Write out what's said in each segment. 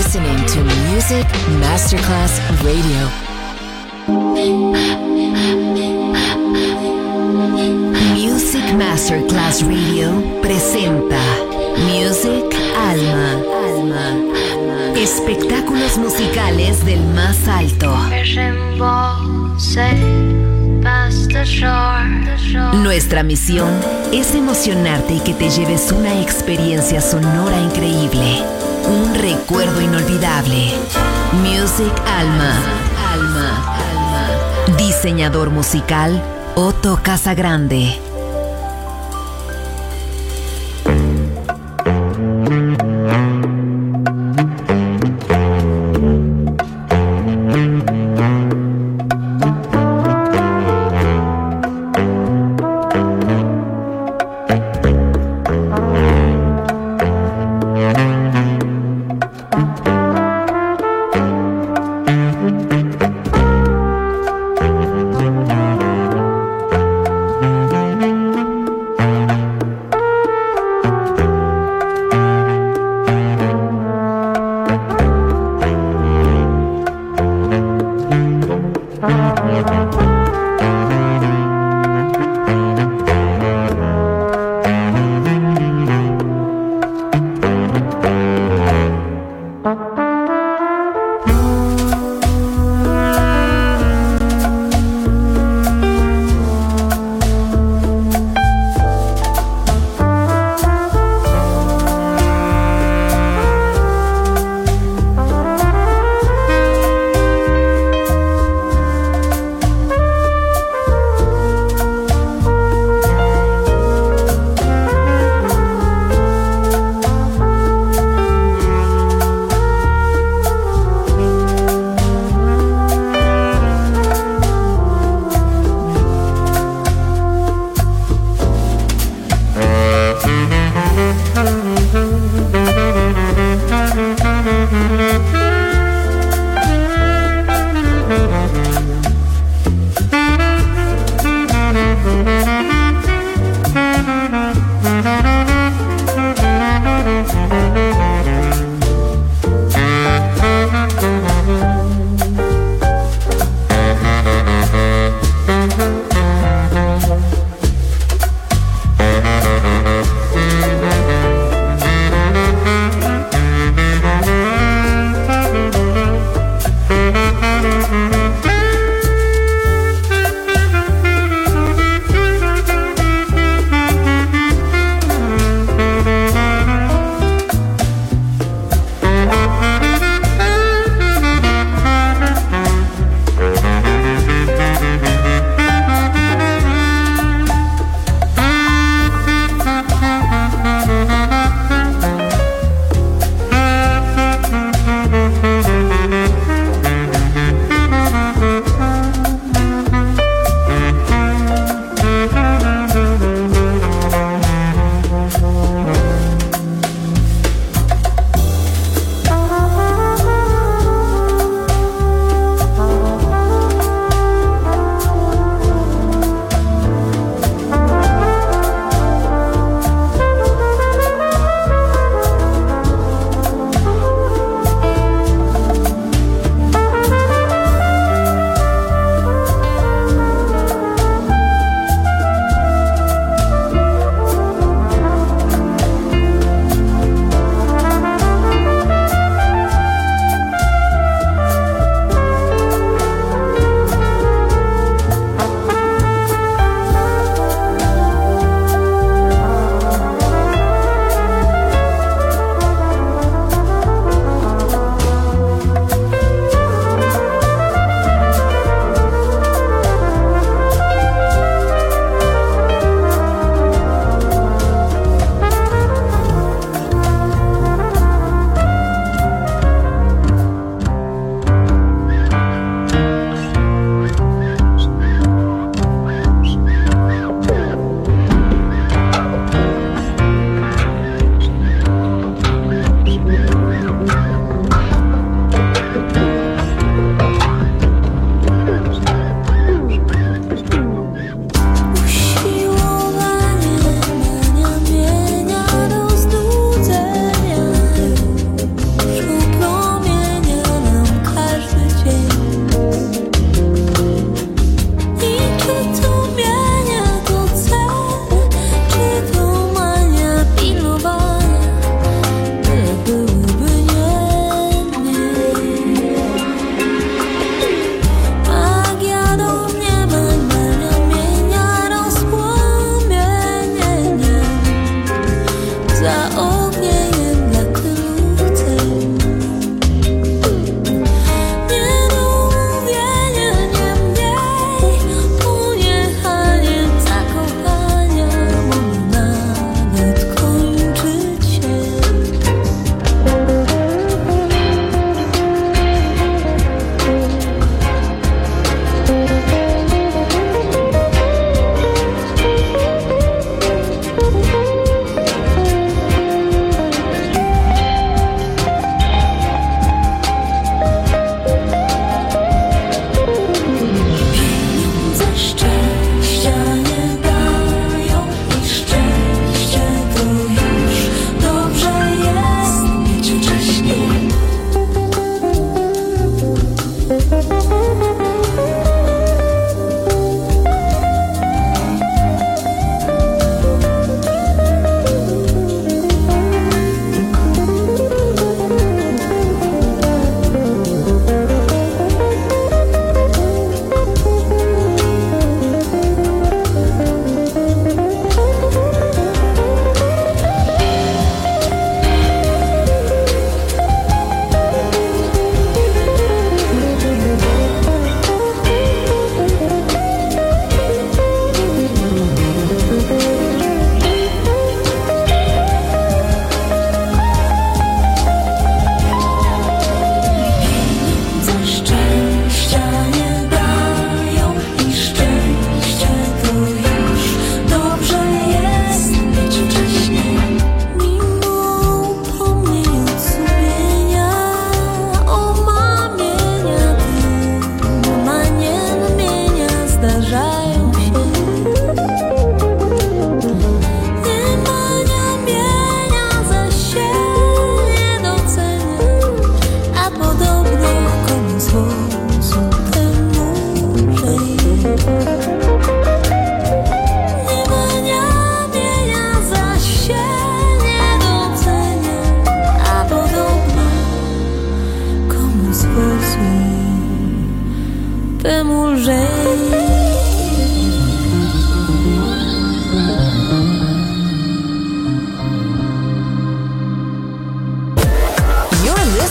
listening to Music Masterclass Radio. Music Masterclass Radio presenta Music Alma. Espectáculos musicales del más alto. Nuestra misión es emocionarte y que te lleves una experiencia sonora increíble, un recuerdo inolvidable. Music Alma. Diseñador musical Otto Casagrande.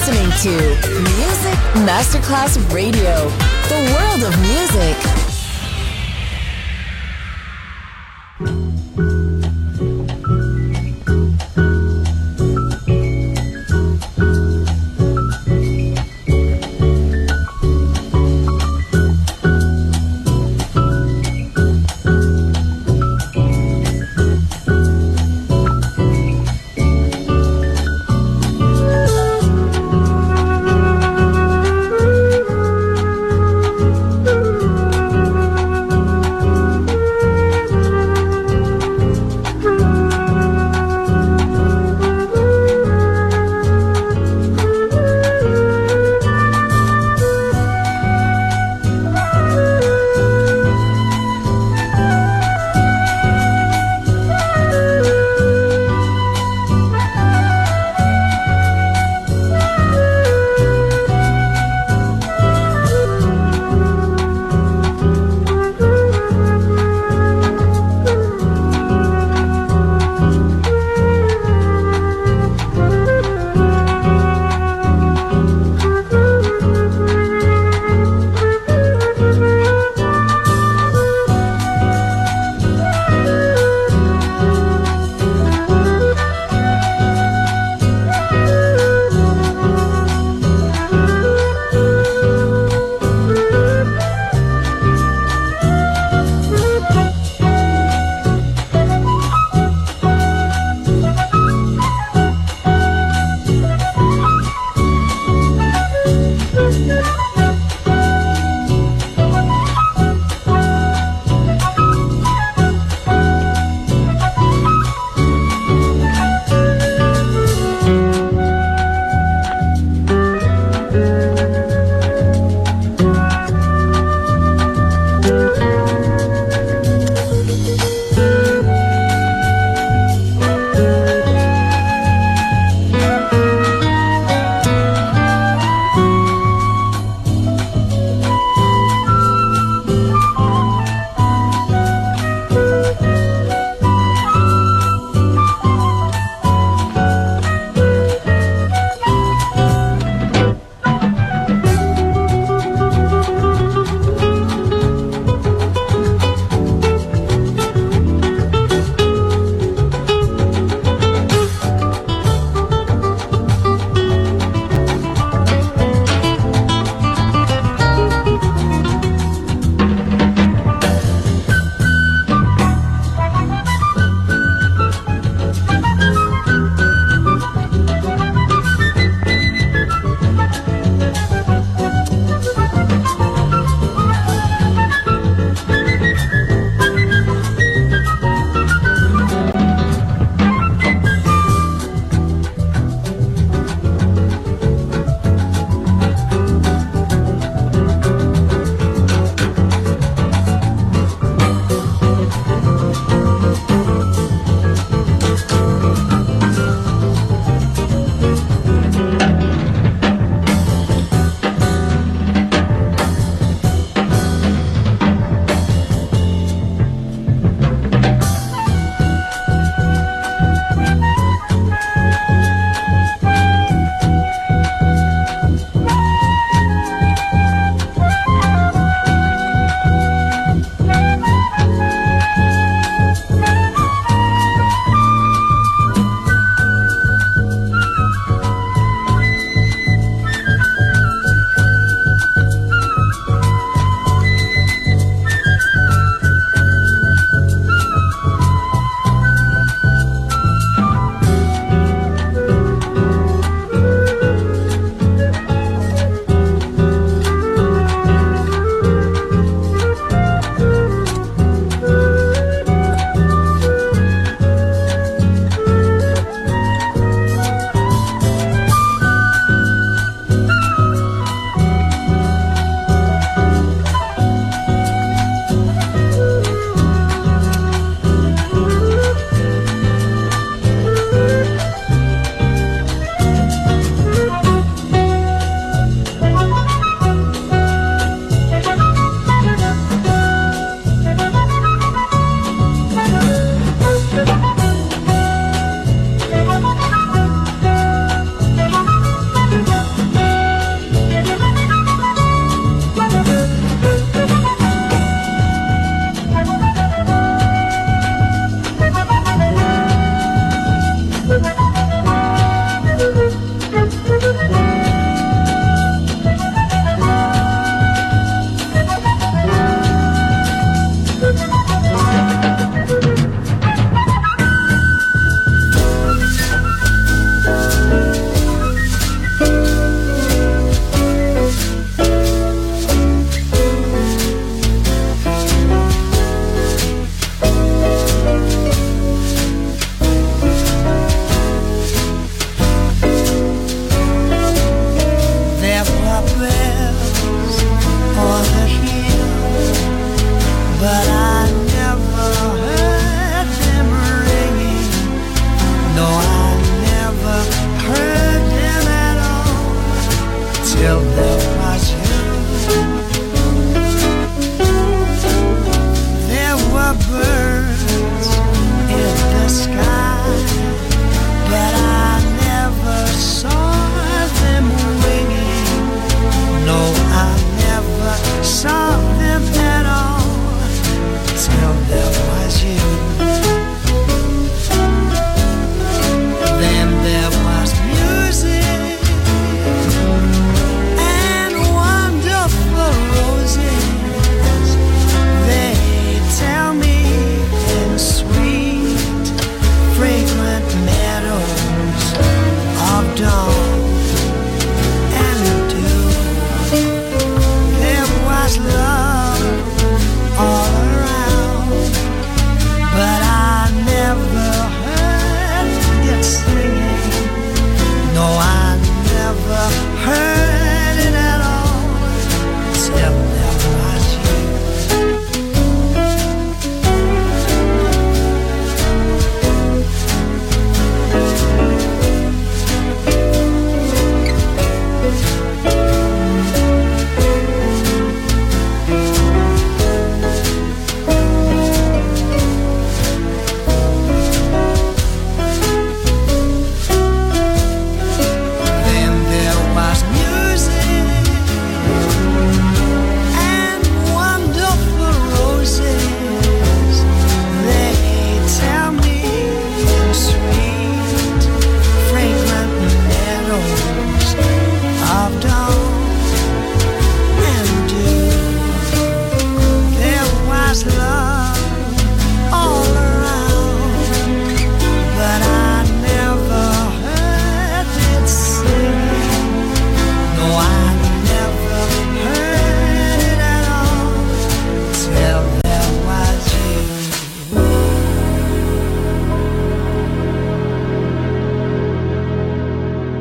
listening to Music Masterclass Radio, the world of music.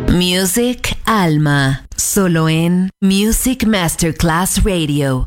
Music Alma, solo en Music Masterclass Radio.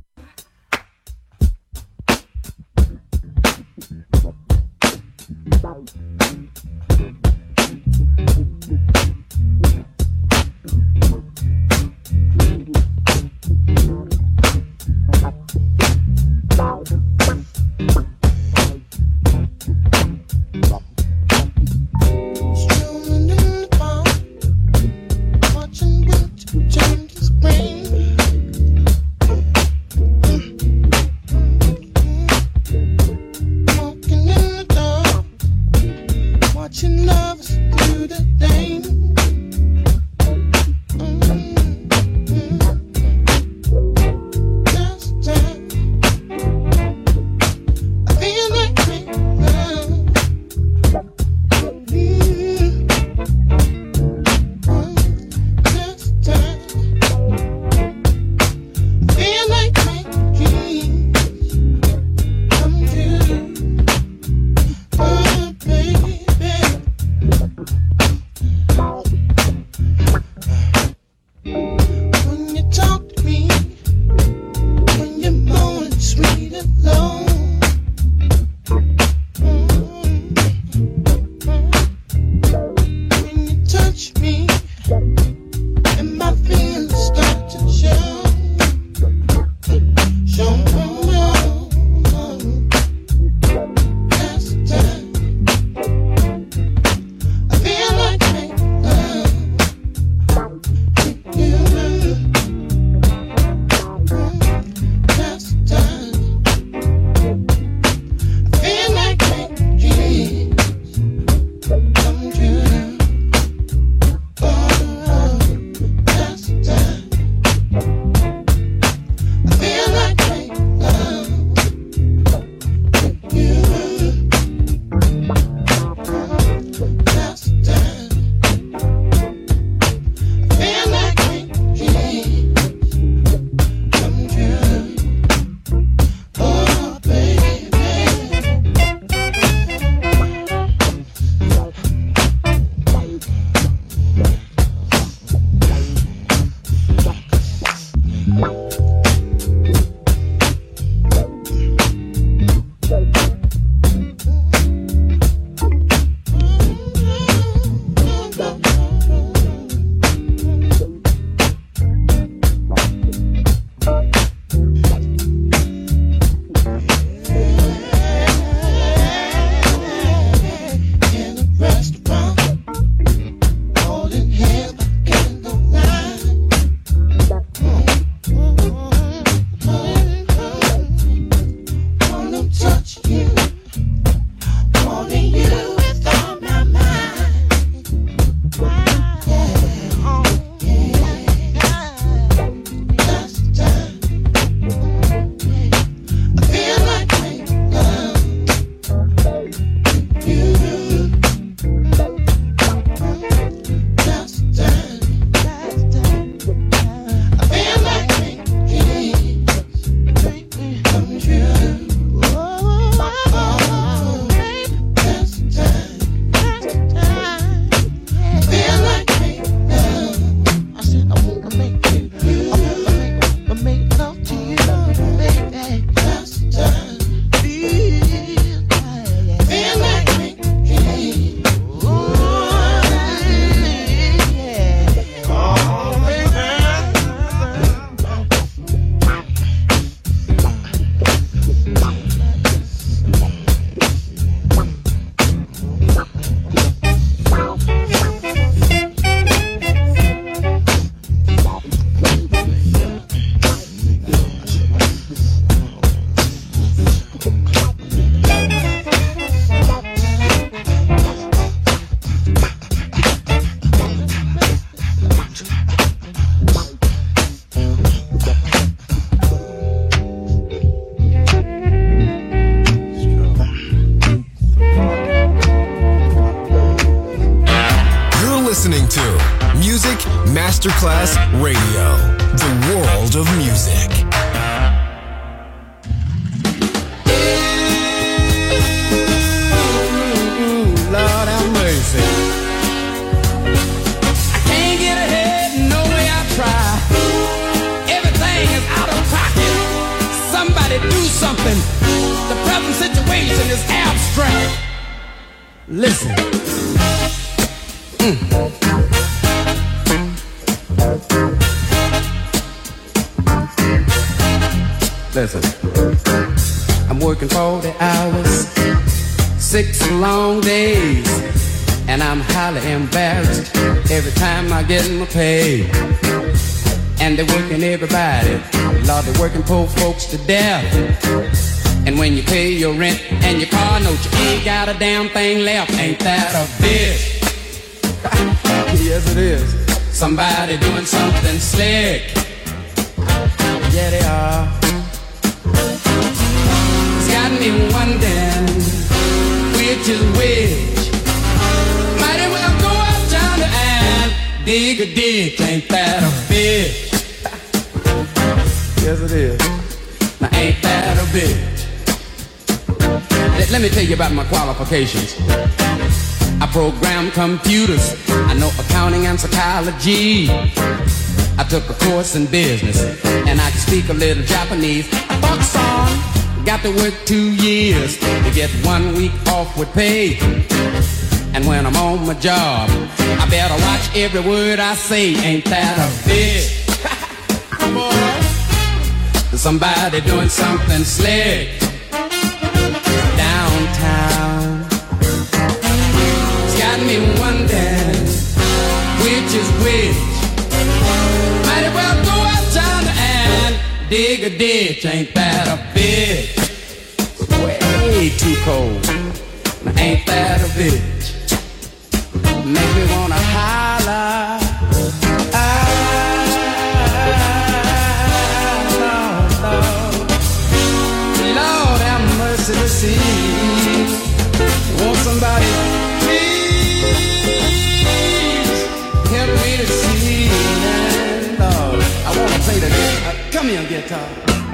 Masterclass Radio, the world of music. Lord have mercy. I can't is abstract. Listen. Listen. I'm working 40 hours, 6 long days, and I'm highly embarrassed every time I get my pay. And they're working everybody, Lord, they're working poor folks to death. And when you pay your rent and your car note, you ain't got a damn thing left. Ain't that a bitch? Yes, it is. Somebody doing something slick. Yeah, they are. It's got me wondering which is which. Might as well go uptown and dig a ditch. Ain't that a bitch? Yes, it is. Now, ain't that a bitch? Let me tell you about my qualifications. I program computers. I know accounting and psychology. I took a course in business, and I can speak a little Japanese. Fuck song. Got to work 2 years to get 1 week off with pay. And when I'm on my job, I better watch every word I say. Ain't that a bitch? Boy, somebody doing something slick downtown. It's got me wondering which is which. Might as well go uptown and dig a ditch. Ain't that a bitch? It's way too cold. Now, ain't that a bitch? Make me wanna holler. Lord have mercy to see. Won't somebody please help me to see? And Lord, I wanna play the guitar. Come here, guitar.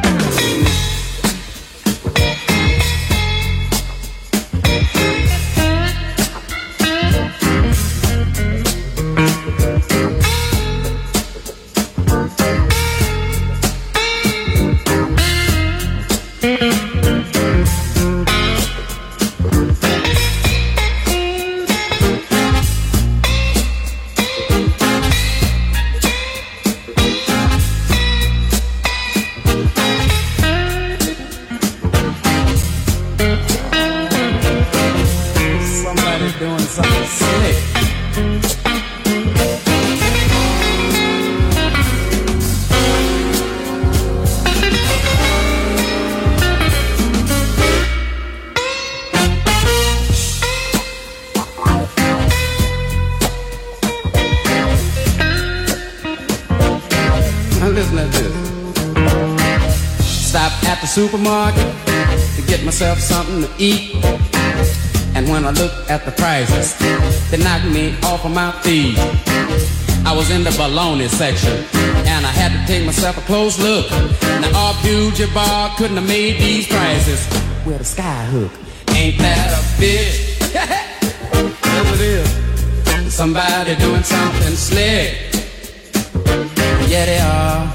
Supermarket to get myself something to eat, and when I looked at the prices, they knocked me off of my feet. I was in the bologna section, and I had to take myself a close look. Now, Abdul-Jabbar couldn't have made these prices with a sky hook. Ain't that a bitch? Yes, it is. Somebody doing something slick. Yeah, they are.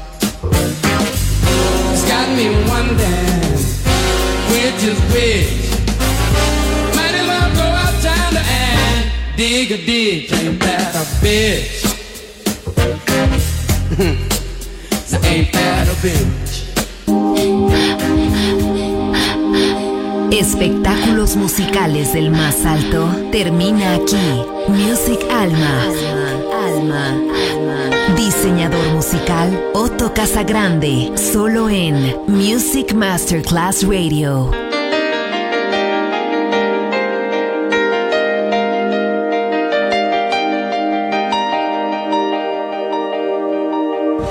Got me wondering which is which. Might as well go outside and dig a ditch. Ain't that a bitch? Ain't that a bitch? Espectáculos musicales del más alto termina aquí. Music Alma. Diseñador musical Otto Casagrande, solo en Music Masterclass Radio.